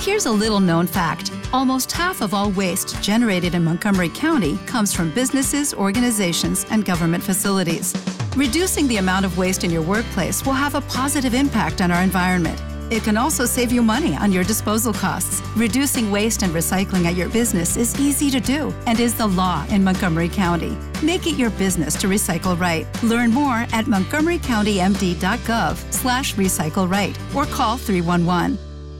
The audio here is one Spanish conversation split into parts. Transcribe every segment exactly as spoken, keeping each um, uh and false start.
Here's a little-known fact. Almost half of all waste generated in Montgomery County comes from businesses, organizations, and government facilities. Reducing the amount of waste in your workplace will have a positive impact on our environment. It can also save you money on your disposal costs. Reducing waste and recycling at your business is easy to do and is the law in Montgomery County. Make it your business to recycle right. Learn more at montgomerycountymd.gov slash recycle right or call three one one.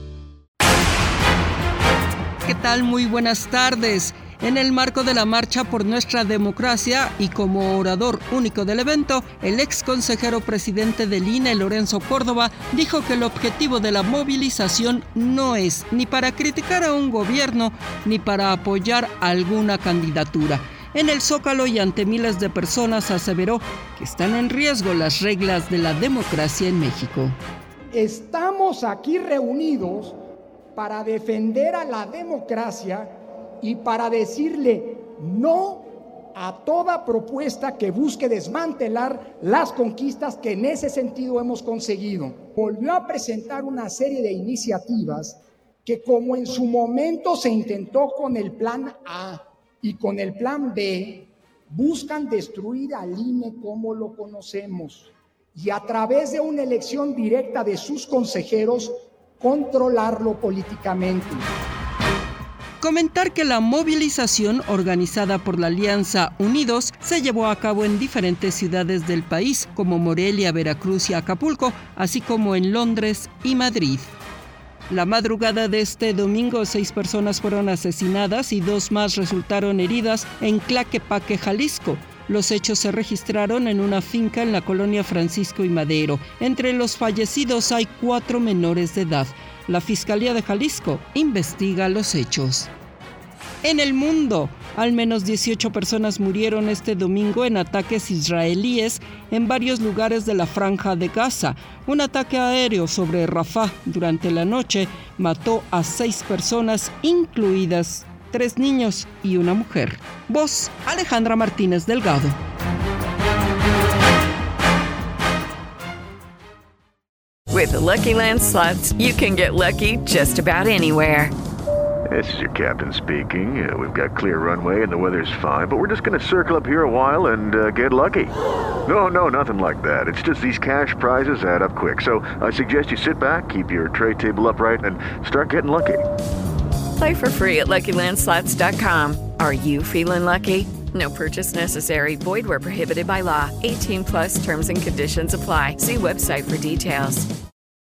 ¿Qué tal? Muy buenas tardes. En el marco de la Marcha por Nuestra Democracia y como orador único del evento, el ex consejero presidente del I N E, Lorenzo Córdoba, dijo que el objetivo de la movilización no es ni para criticar a un gobierno ni para apoyar a alguna candidatura. En el Zócalo y ante miles de personas aseveró que están en riesgo las reglas de la democracia en México. Estamos aquí reunidos para defender a la democracia y para decirle no a toda propuesta que busque desmantelar las conquistas que en ese sentido hemos conseguido. Volvió a presentar una serie de iniciativas que, como en su momento se intentó con el Plan A y con el Plan B, buscan destruir al I N E como lo conocemos y a través de una elección directa de sus consejeros controlarlo políticamente. Comentar que la movilización organizada por la Alianza Unidos se llevó a cabo en diferentes ciudades del país, como Morelia, Veracruz y Acapulco, así como en Londres y Madrid. La madrugada de este domingo, seis personas fueron asesinadas y dos más resultaron heridas en Tlaquepaque, Jalisco. Los hechos se registraron en una finca en la colonia Francisco y Madero. Entre los fallecidos hay cuatro menores de edad. La Fiscalía de Jalisco investiga los hechos. En el mundo, al menos dieciocho personas murieron este domingo en ataques israelíes en varios lugares de la Franja de Gaza. Un ataque aéreo sobre Rafah durante la noche mató a seis personas, incluidas tres niños y una mujer. Voz, Alejandra Martínez Delgado. With the Lucky Land Slots, you can get lucky just about anywhere. This is your captain speaking. Uh, we've got clear runway and the weather's fine, but we're just going to circle up here a while and uh, get lucky. No, no, nothing like that. It's just these cash prizes add up quick. So I suggest you sit back, keep your tray table upright, and start getting lucky. Play for free at lucky land slots dot com. Are you feeling lucky? No purchase necessary. Void where prohibited by law. eighteen plus terms and conditions apply. See website for details.